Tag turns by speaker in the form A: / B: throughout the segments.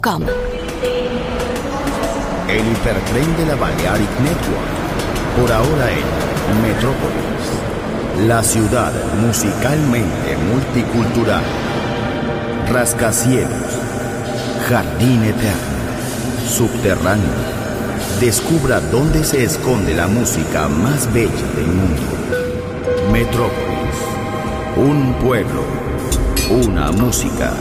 A: Com.
B: El hipertren de la Balearic Network, por ahora en Metrópolis, la ciudad musicalmente multicultural. Rascacielos, jardín eterno, subterráneo. Descubra dónde se esconde la música más bella del mundo. Metrópolis, un pueblo, una música.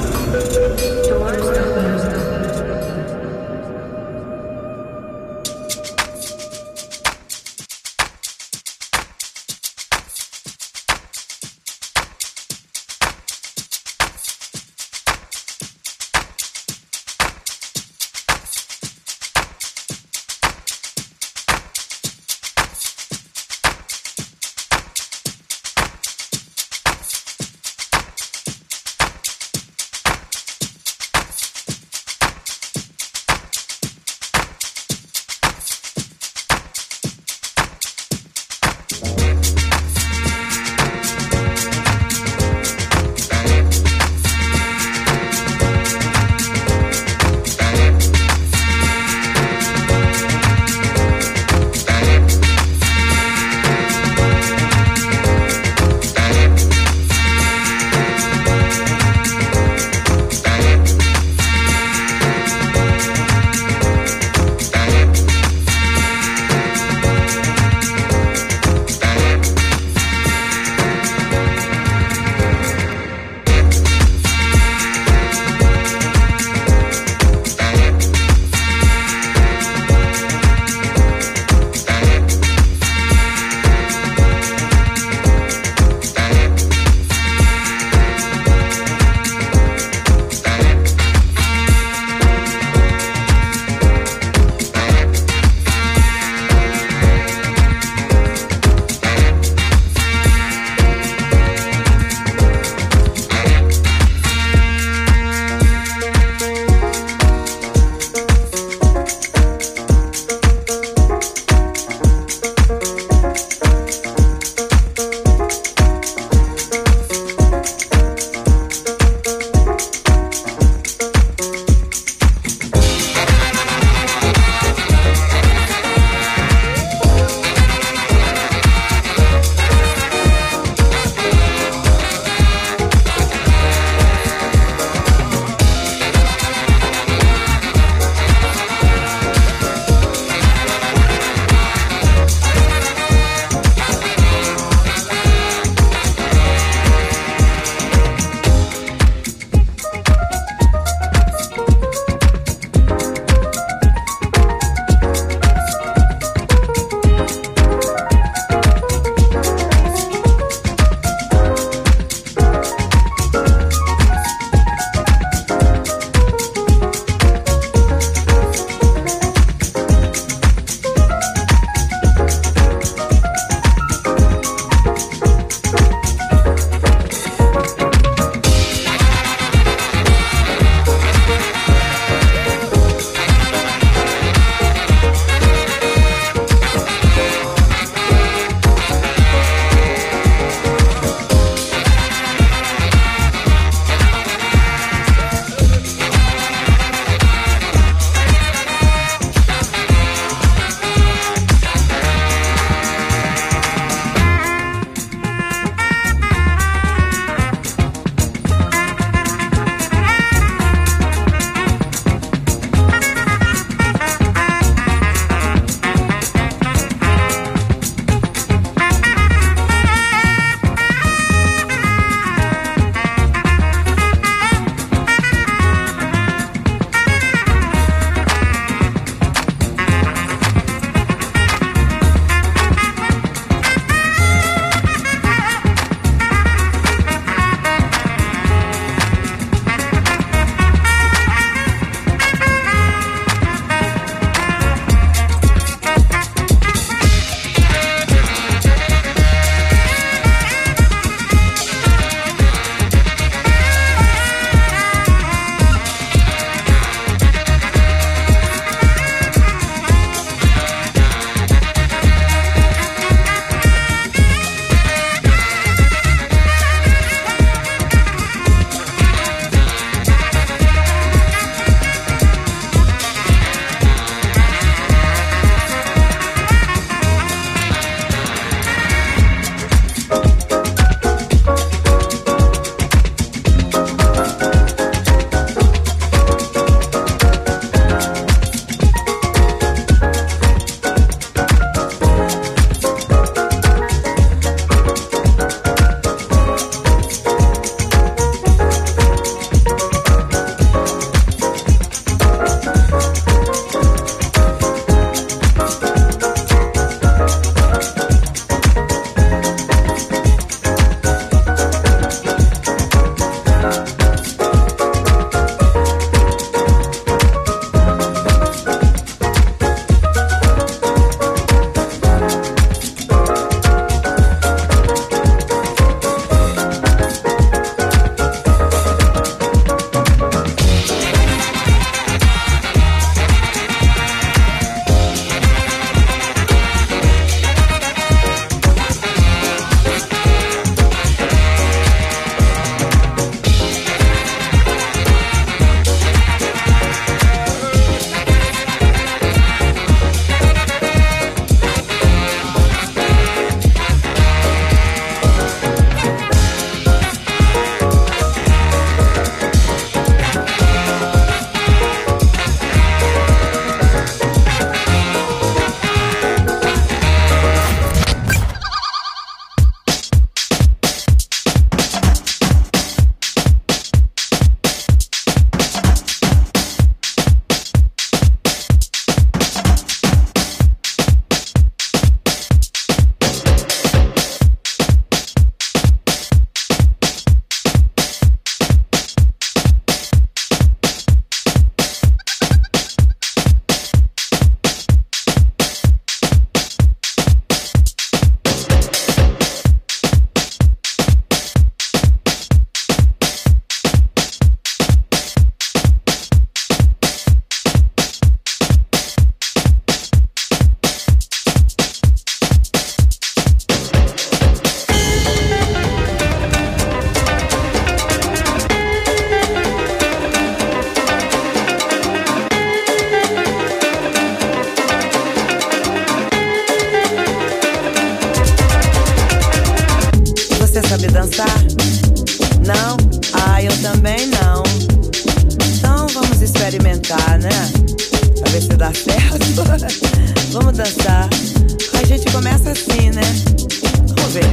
A: dançar, né? Pra ver se dá certo. Vamos dançar. A gente começa assim, né? Vamos ver.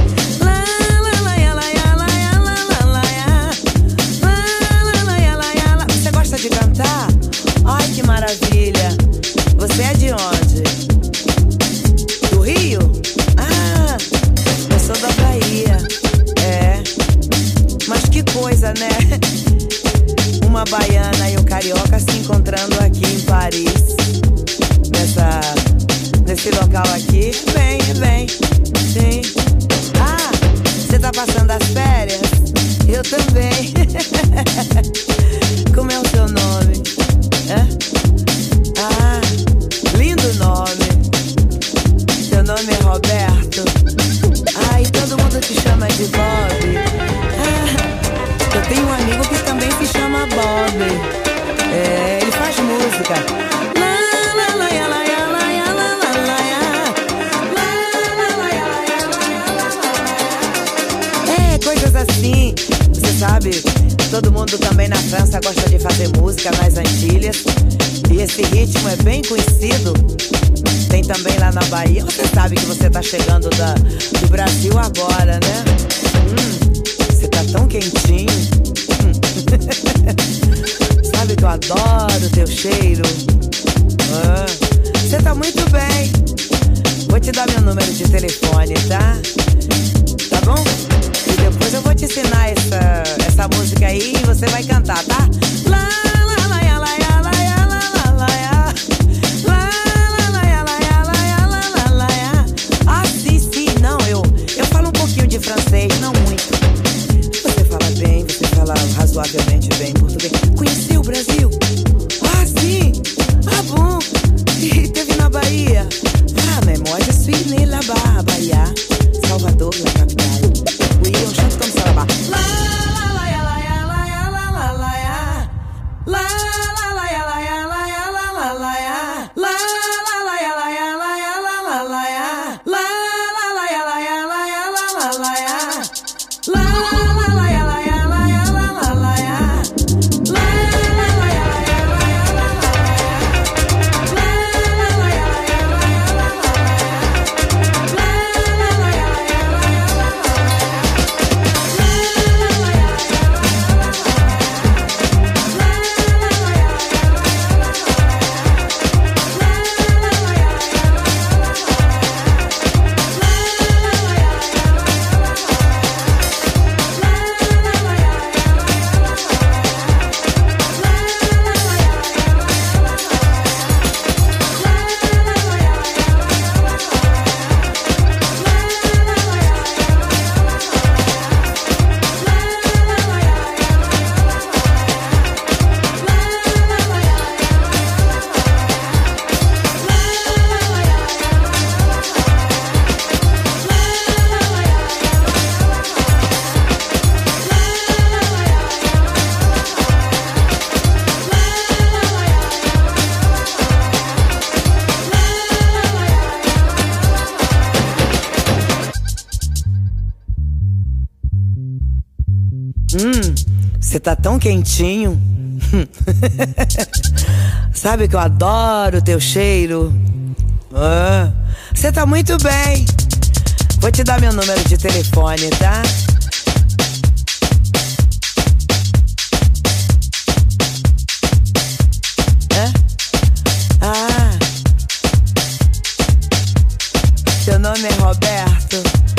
A: Você gosta de cantar? Ai, que maravilha. Você é de onde? Do Rio? Ah, eu sou da Bahia. É. Mas que coisa, né? Uma baiana e um carioca se encontrando aqui em Paris. Nesse local aqui. Vem, sim. Ah, você tá passando as férias? Eu também. Como é o seu nome? É? Ah, lindo nome. Seu nome é Roberto. Ah, e todo mundo te chama de Bob. Ah, eu tenho um amigo que também se chama Bob. É, ele faz música. Coisas assim, você sabe, todo mundo também na França gosta de fazer música nas Antilhas. E esse ritmo é bem conhecido. Tem também lá na Bahia. Você sabe que você tá chegando do Brasil agora, né? Você tá tão quentinho. Sabe que eu adoro teu cheiro. Você tá muito bem. Vou te dar meu número de telefone, tá? Tá bom? Depois eu vou te ensinar essa música aí e você vai cantar, tá? Ah, sim, não, eu falo um pouquinho de francês, não muito. Você fala bem, você fala razoavelmente bem português. Conheceu o Brasil? Ah, sim! Ah, bom! E teve na Bahia? Ah, mais moi je suis né là-bas, Bahia, Salvador, la capitale. Oui, on chante comme ça là-bas. La la la ya la ya la ya la la la ya. La la la ya la ya la ya la la la ya. La la la ya la ya la ya la la la ya. La la la ya la ya la ya la la la ya. La la la ya la ya la ya la la la ya. La la la ya la ya la ya la la la ya. La la la ya la ya la ya la la la ya. La la la ya la ya la ya la la Você tá tão quentinho. Sabe que eu adoro teu cheiro. Você tá muito bem. Vou te dar meu número de telefone, tá? Ah, seu nome é Roberto.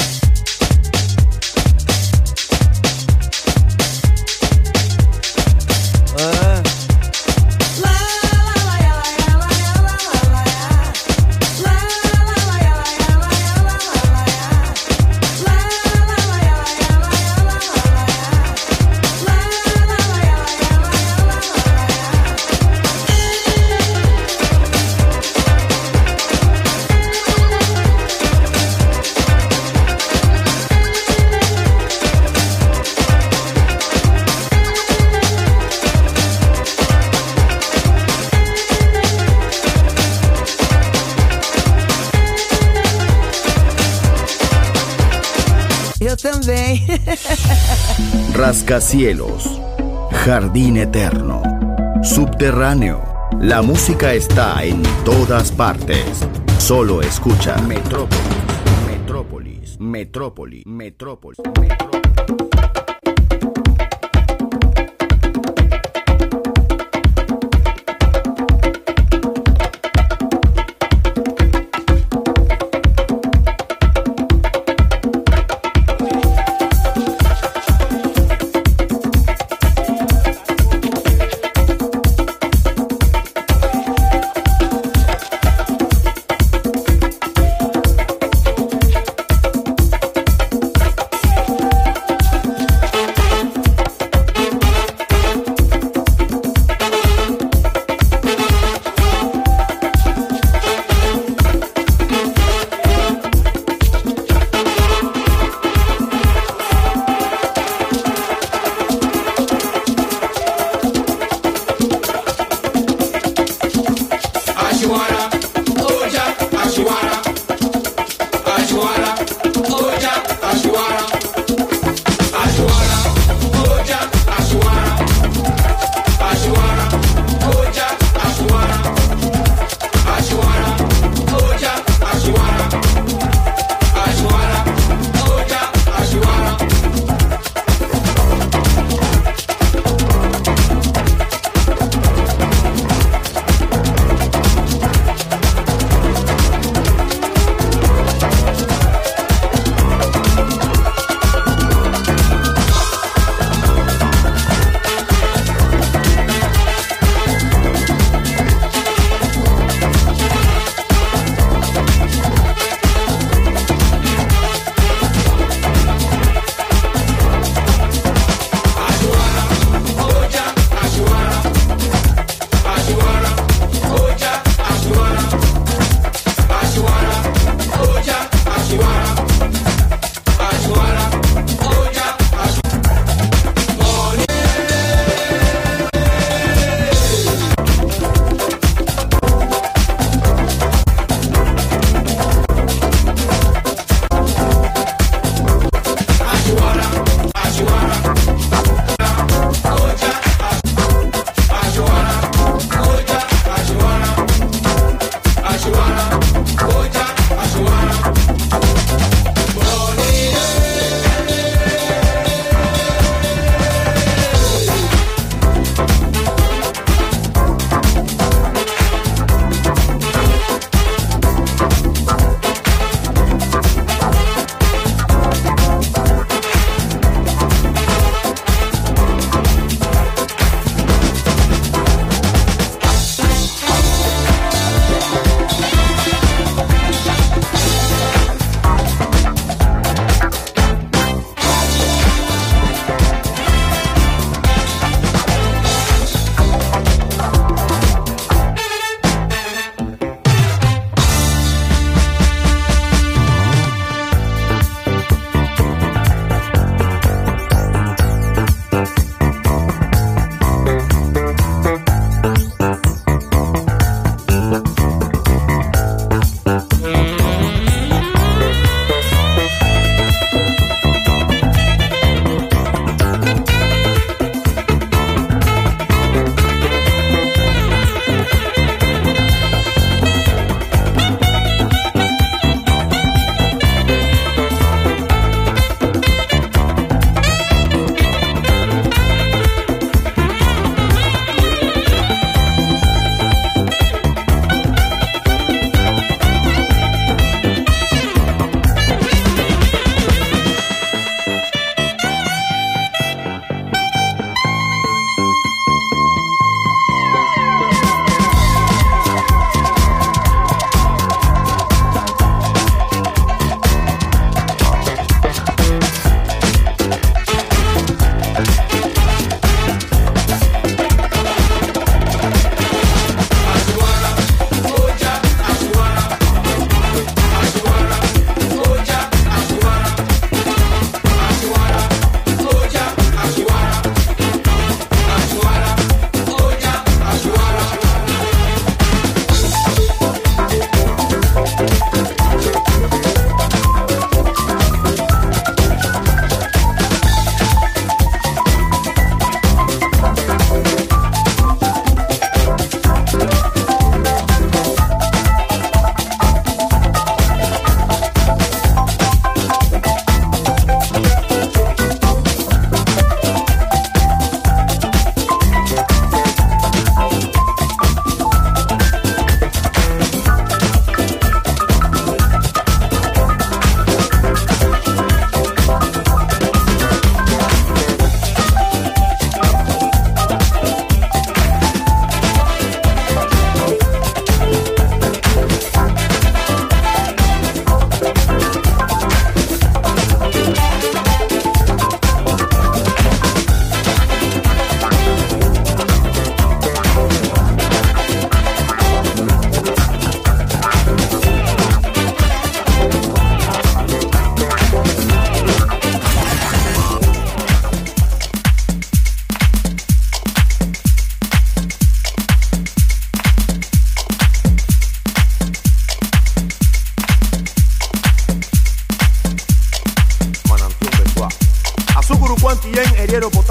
A: Eu também.
B: Rascacielos, Jardín Eterno, subterráneo. La música está en todas partes. Solo escucha Metrópolis, Metrópolis, Metrópolis, Metrópolis, Metrópolis.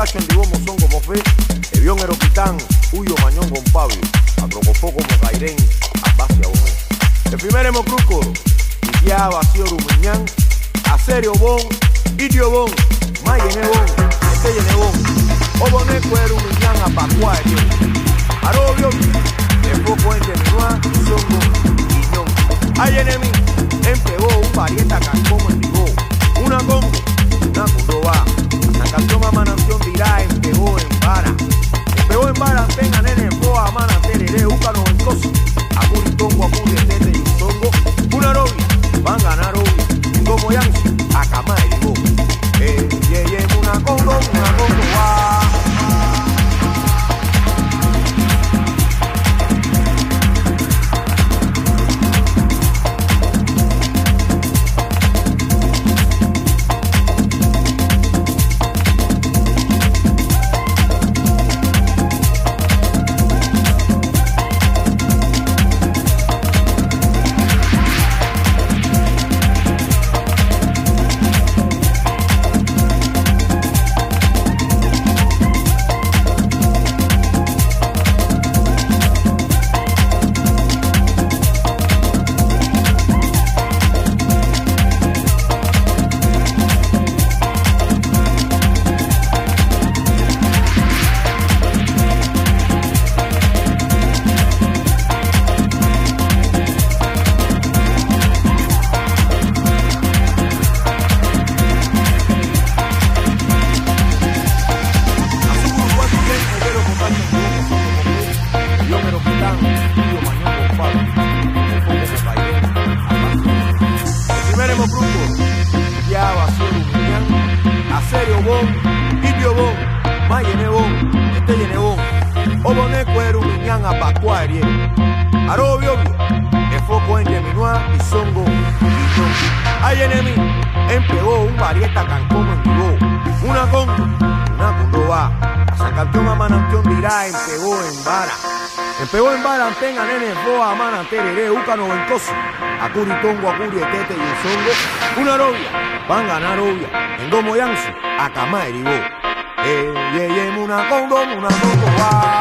C: Potacho en Dibomo son como fe, Evión Eroquitán, Huyo Mañón con Pablo, Agrocofó como Cairén, Abacia Bomé. El primer Hemocruco, Iquia Vacío Rumiñán, Acerio Bon, Idio Bon, Mayene Bon, Esteyene Bon, Oboné Cuero Rumiñán, Apacua Erio, Arobio, El Foco en Geminua, Songo, Guiñón. Hay enemi, empegó un parieta Cancomo en Dibo, una Congo, una Cundoba. La canción a Mananción dirá, empegó en vara. Empegó en vara, tenga nene, boa, mana, tereré, úcano en coso. Acuritongo, acuri, tete y zongo. Una robia, van a ganar obvio. Como Yancy, a cama y digo. Una Congo, va. Empegó en vara, tenga nene, boa, mana, tereré, úcano, vencoso. Acuritongo, acuri, tete y el zongo. Una robia, van a ganar obvia. En Gomo Yancy, a cama y digo. Una Congo, va.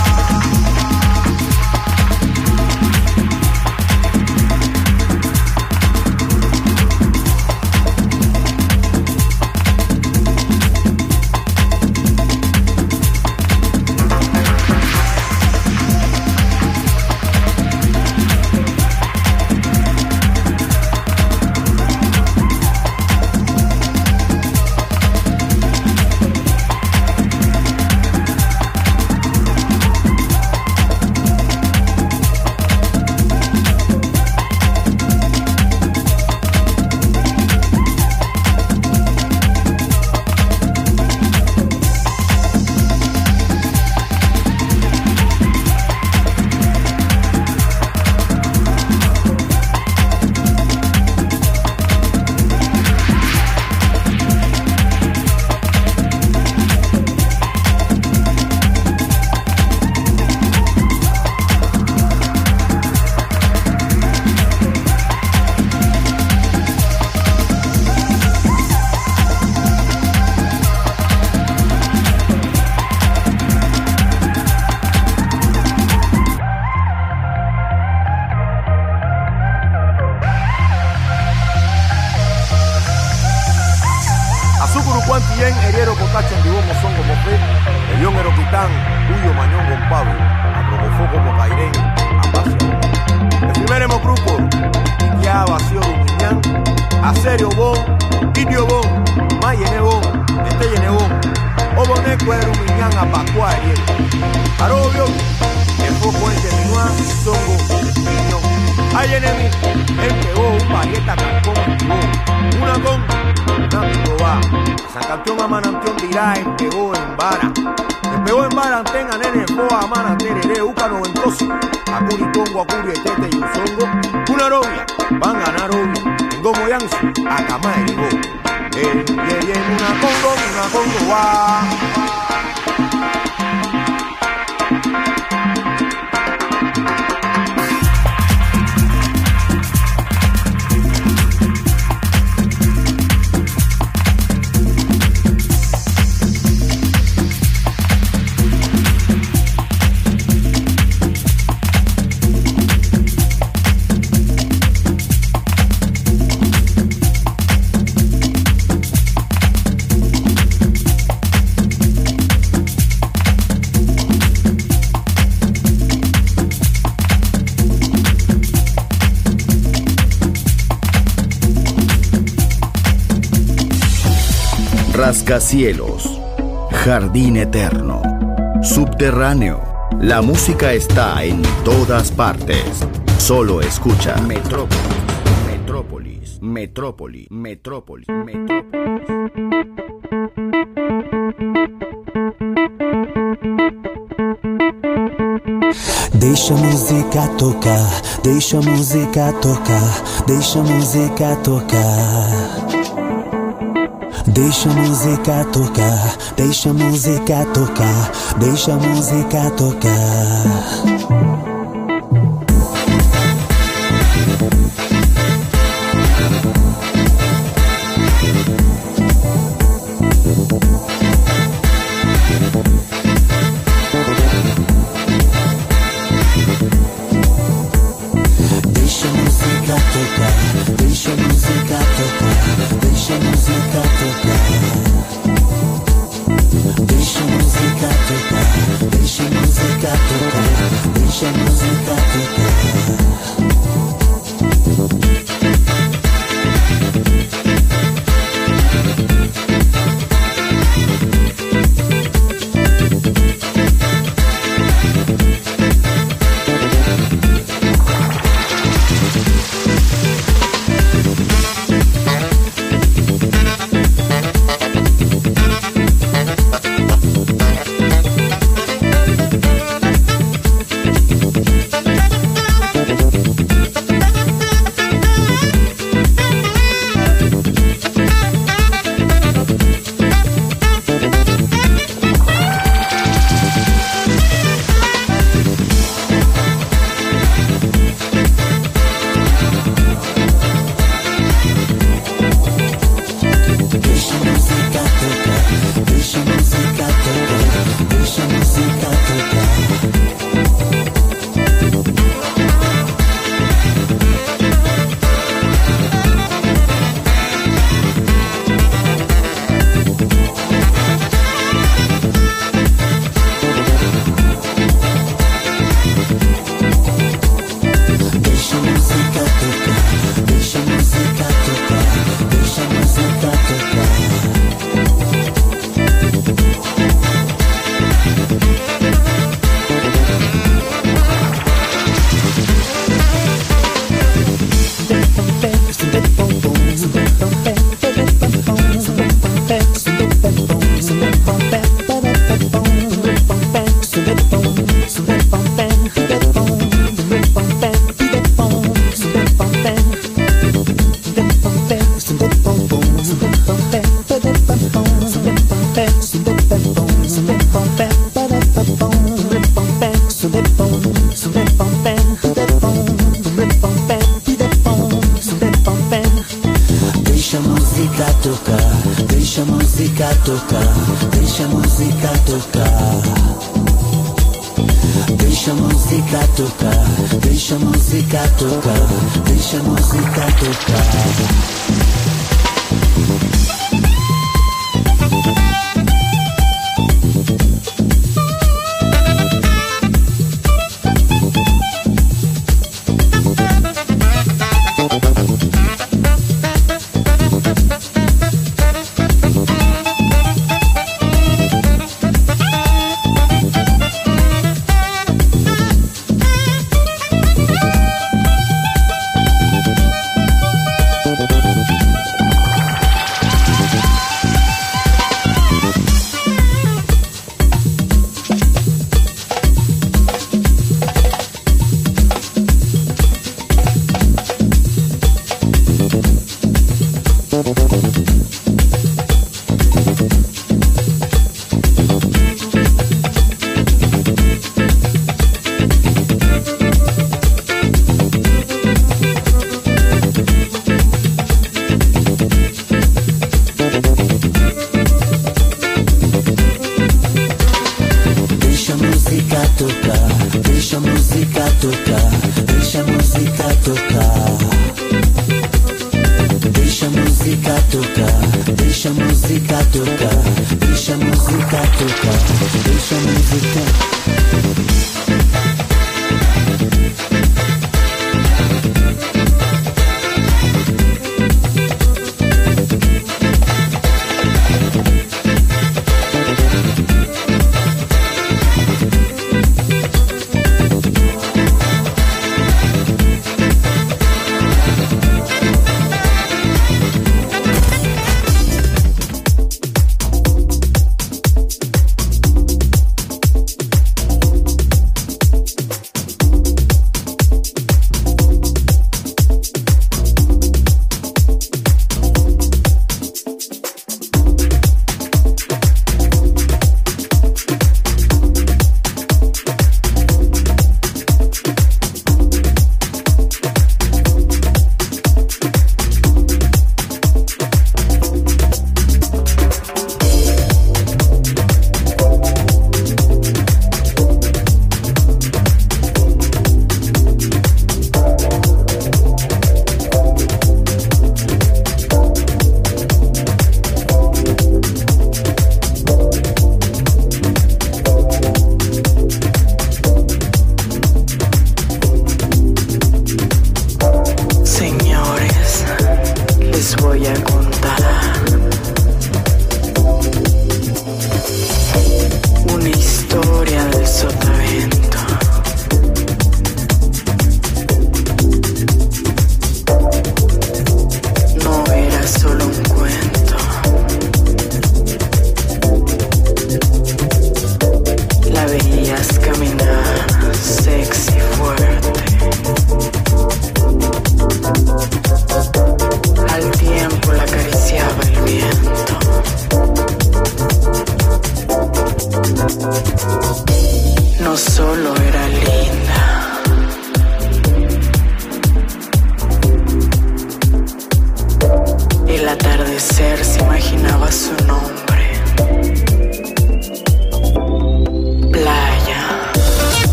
C: Heriero, Potacho, en Dibomo son como fe, Evión Eroquitán, Huyo Mañón con Pablo, Agrocofó como Cairén, Apacia. El primer Hemocruco, Iquia Vacío Rumiñán, Acerio Bon, Idio Bon, Mayene Bon, Esteyene Bon, Oboné Cuero Rumiñán, Apacua Heriero, Arobio, El Foco en Geminua, Zongo, Guiñón. Hay enemi, empegó un parieta Cancón, una Congo, una Cundoba. San Campeón a Mananción dirá, empegó en vara. Empegó en vara, tenga nene, boa, mana, tereré, úcano, vencoso. Acuritongo, acuri, tete y un zongo. Una robia, van a ganar obvio. En Gomo Yancy, a cama y digo. Una Congo, va.
B: rascacielos, jardín eterno, subterráneo. La música está en todas partes. Solo escucha Metrópolis, Metrópolis, Metrópolis, Metrópolis, Metrópolis.
D: Deixa a música tocar, deixa a música tocar, deixa a música tocar. Deixa a música tocar, deixa a música tocar, deixa a música tocar.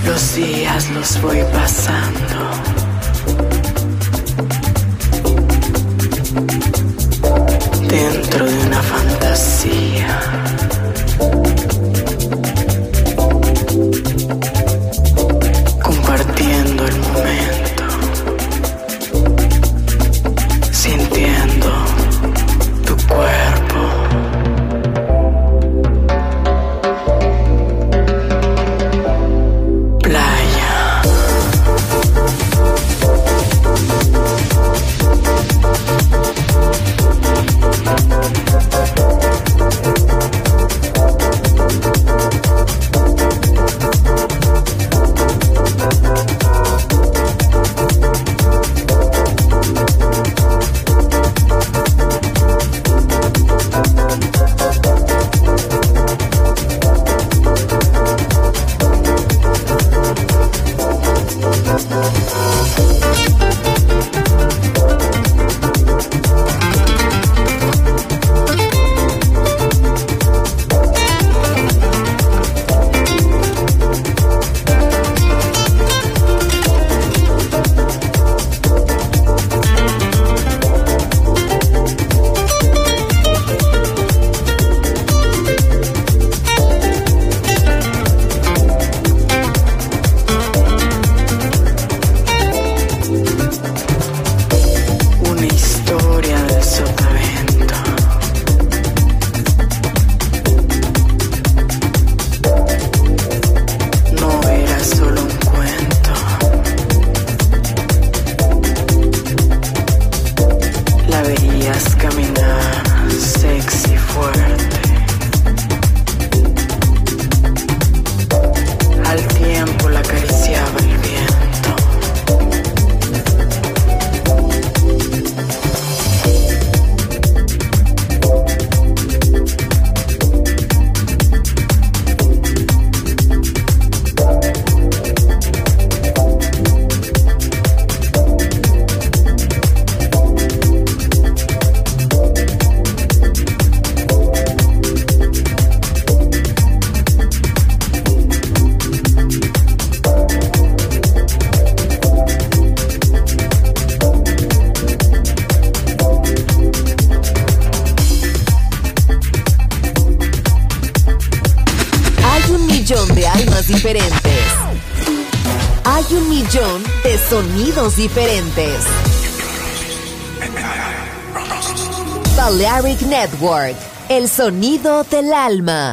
E: Los días los voy pasando. Dentro de una fantasía. Compartiendo el momento. Sintiendo tu cuerpo.
F: Diferentes. Hay 1,000,000 de sonidos diferentes. Balearic Network, el sonido del alma.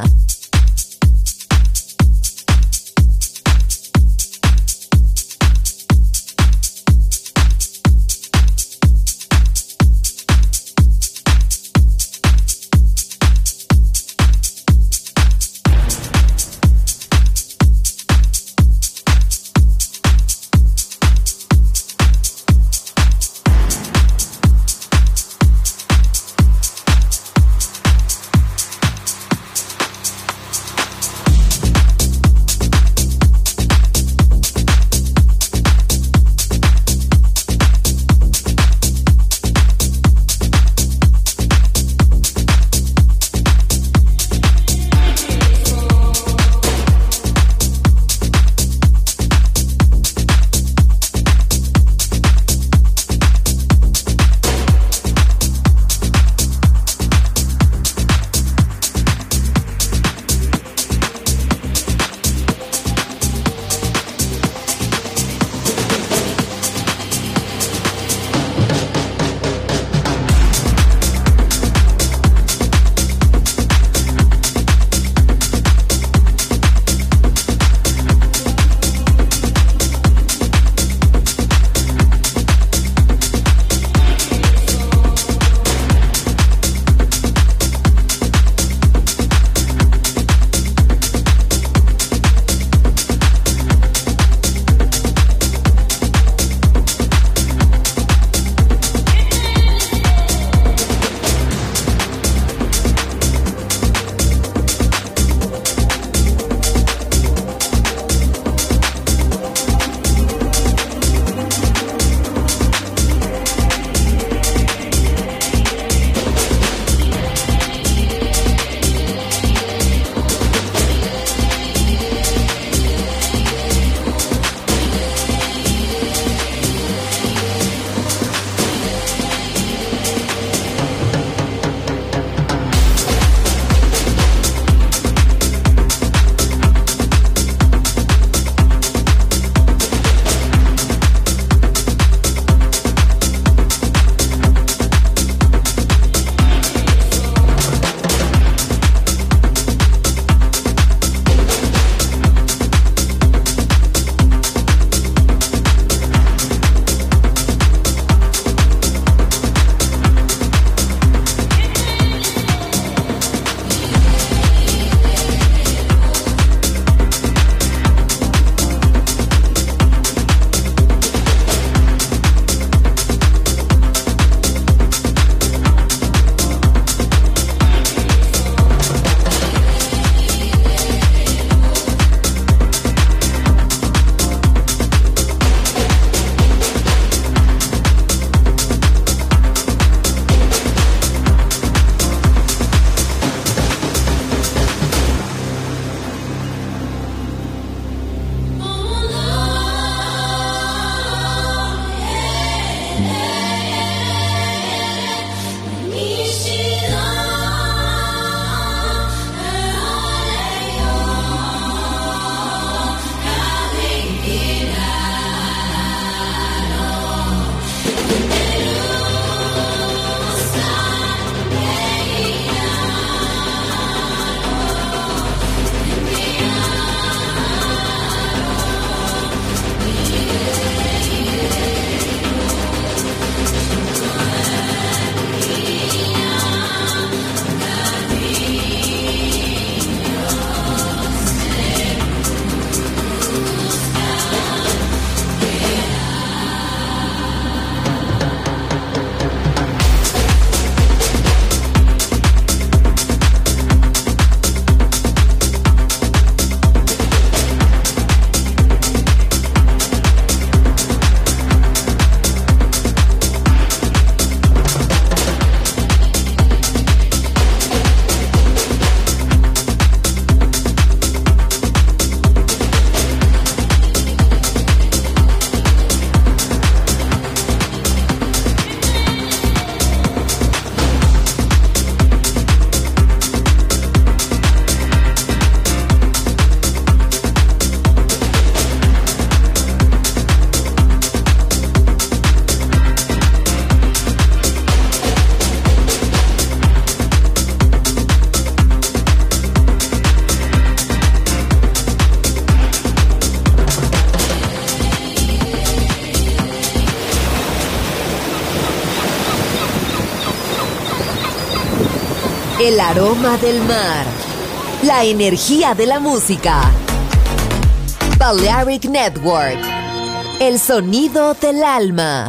F: El aroma del mar. La energía de la música. Balearic Network. El sonido del alma.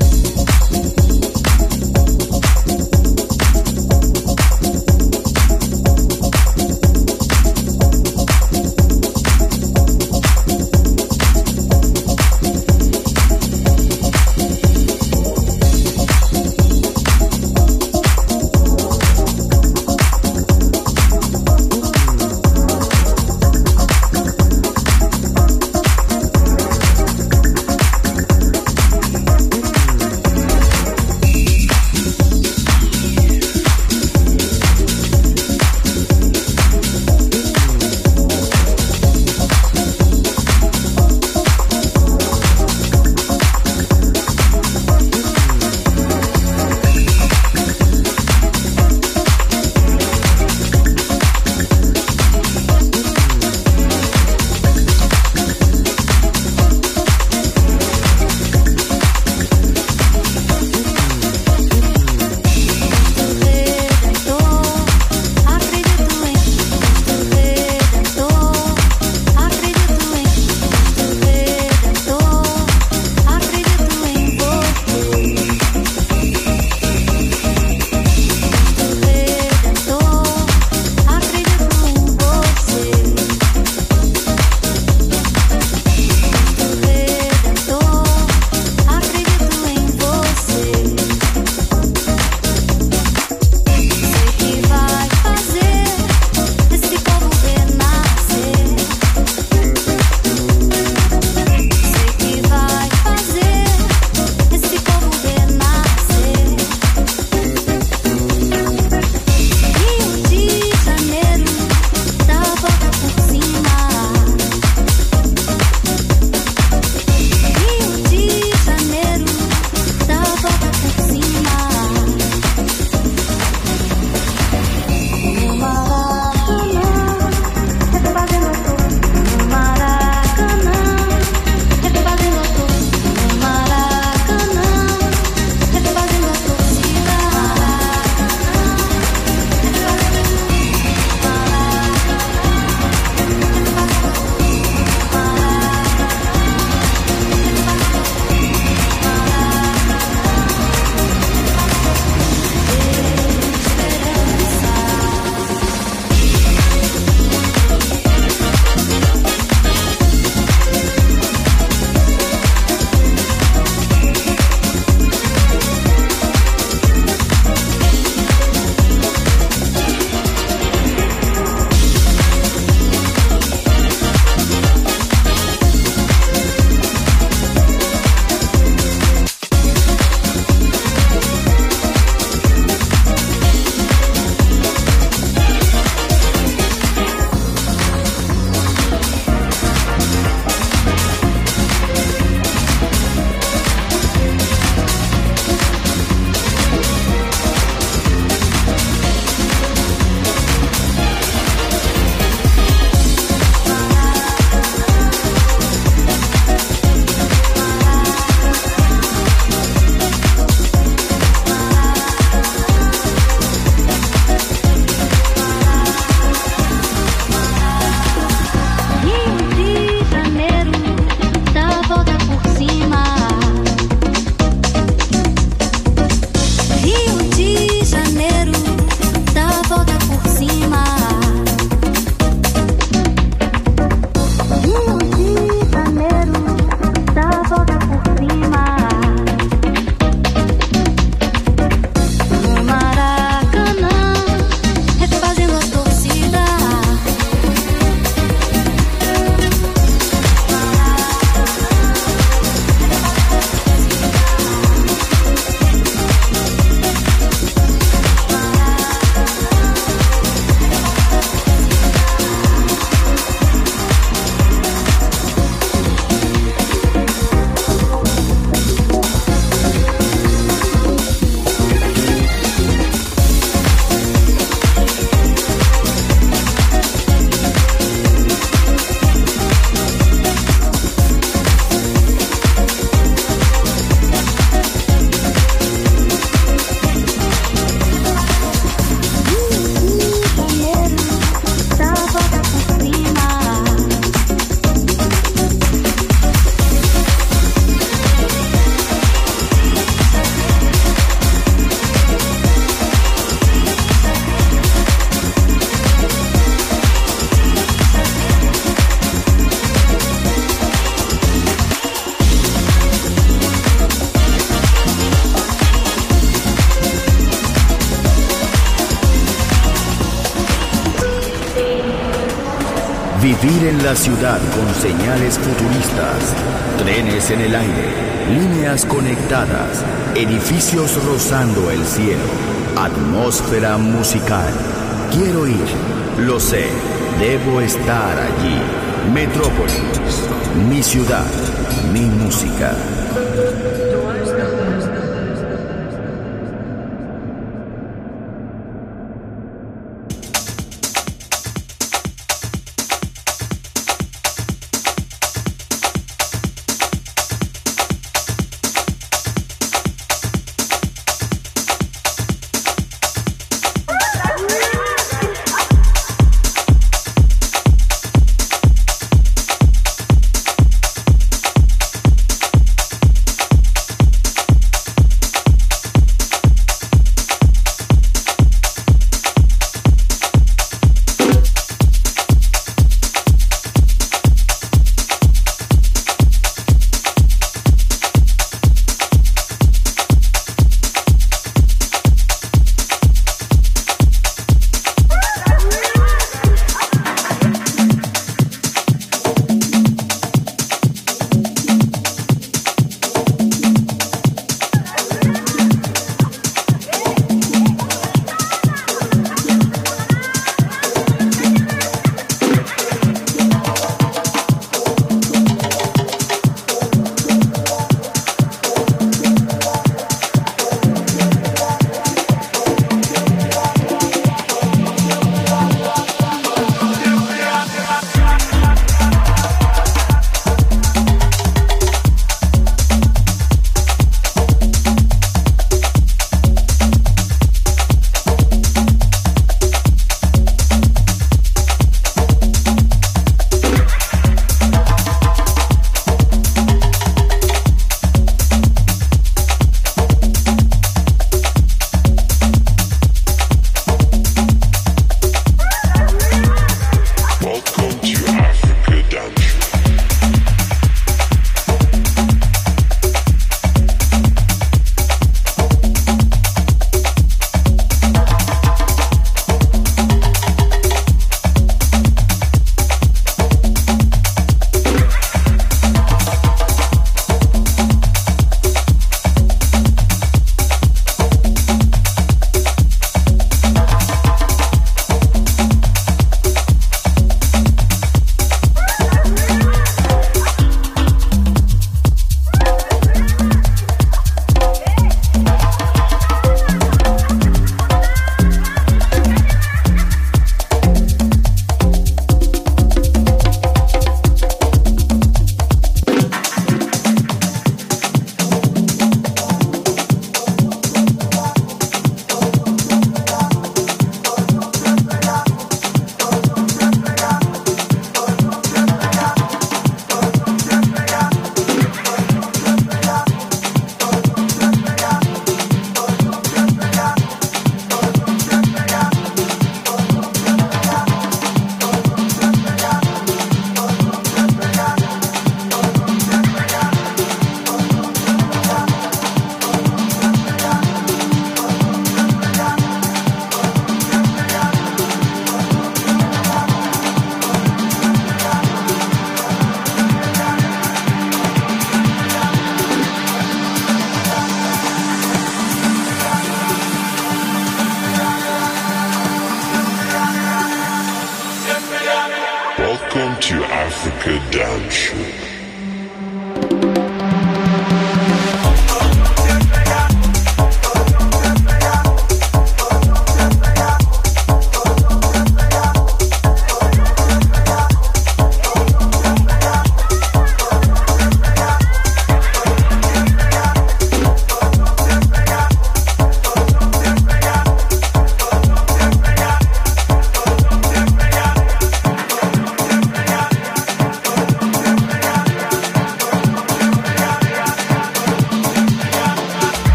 B: Vivir en la ciudad con señales futuristas, trenes en el aire, líneas conectadas, edificios rozando el cielo, atmósfera musical. Quiero ir, lo sé, debo estar allí. Metrópolis, mi ciudad, mi música.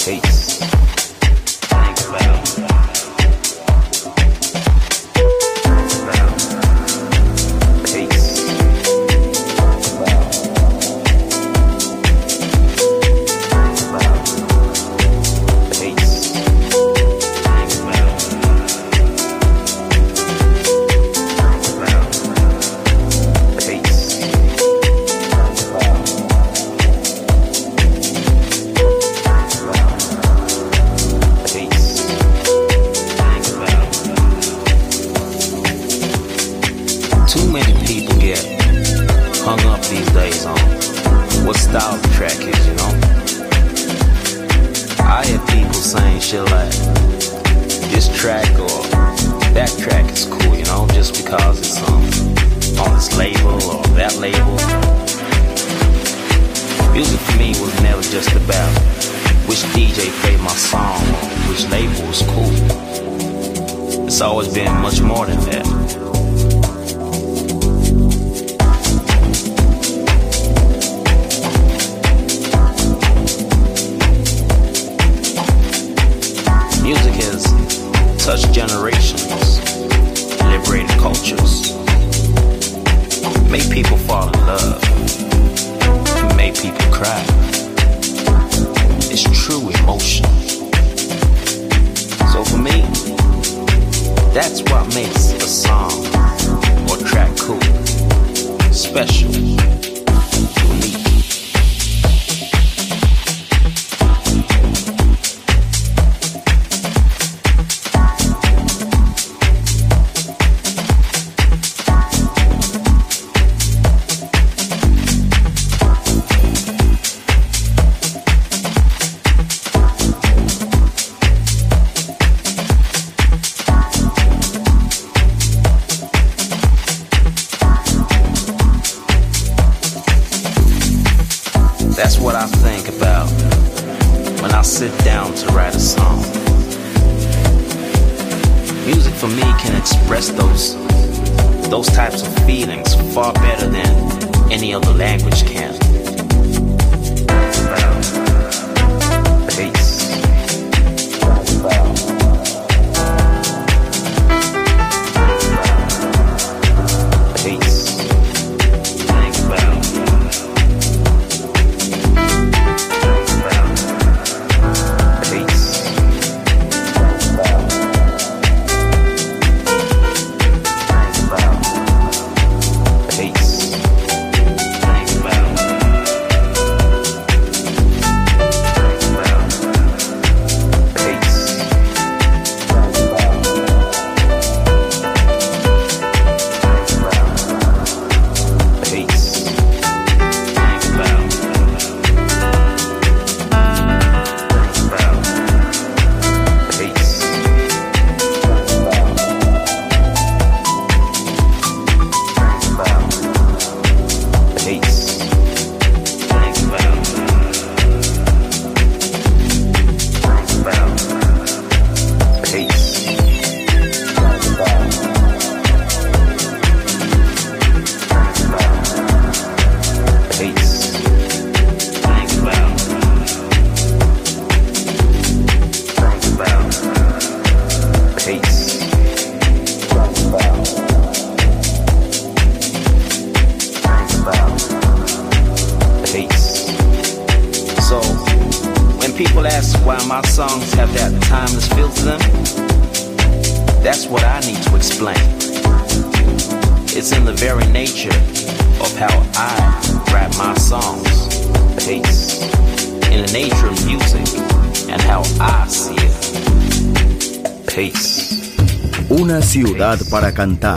B: Una ciudad para cantar,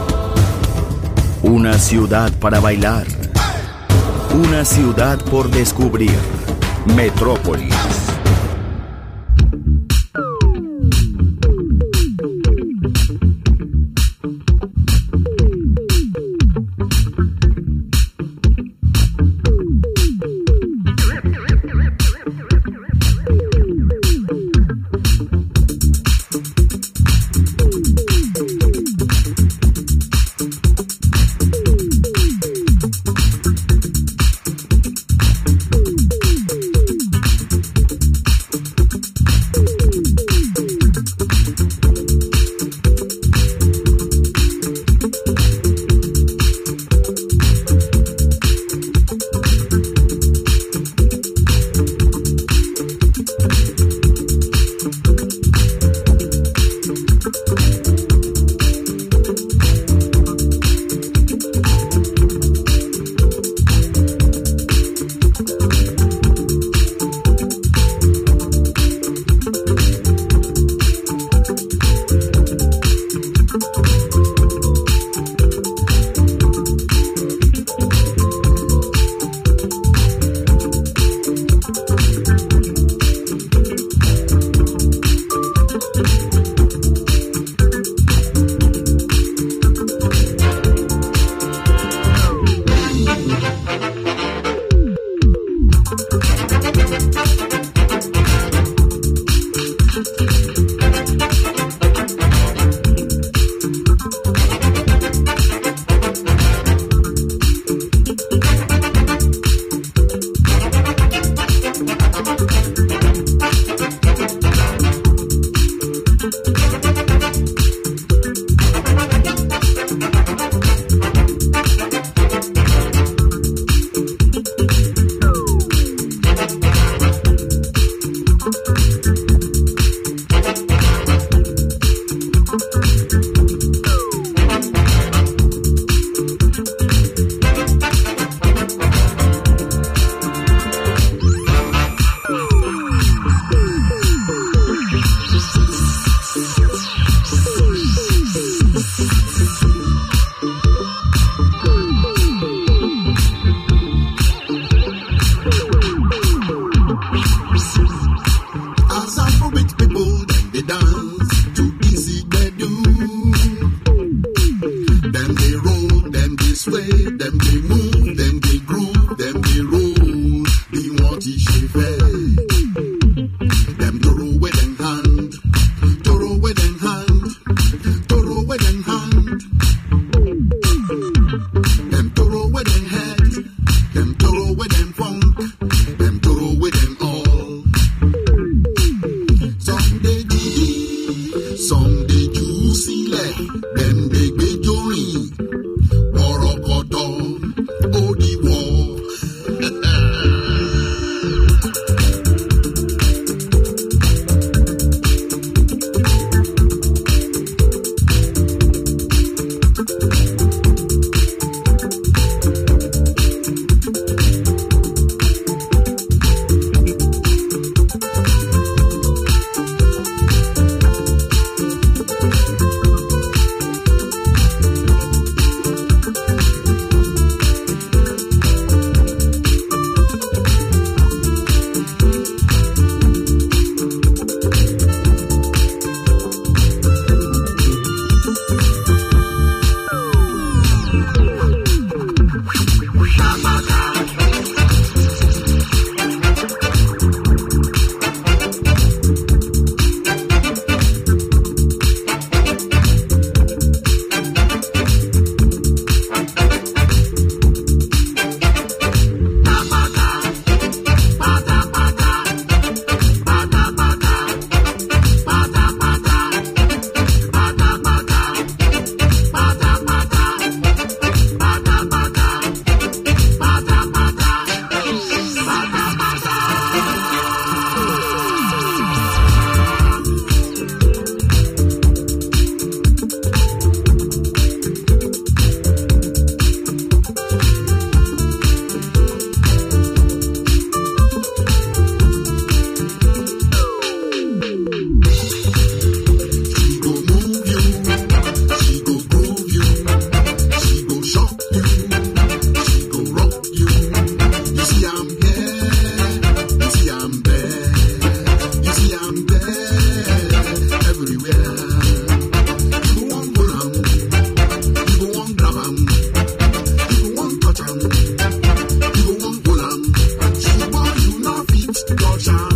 B: una ciudad para bailar, una ciudad por descubrir. Metrópolis.
G: Go, child.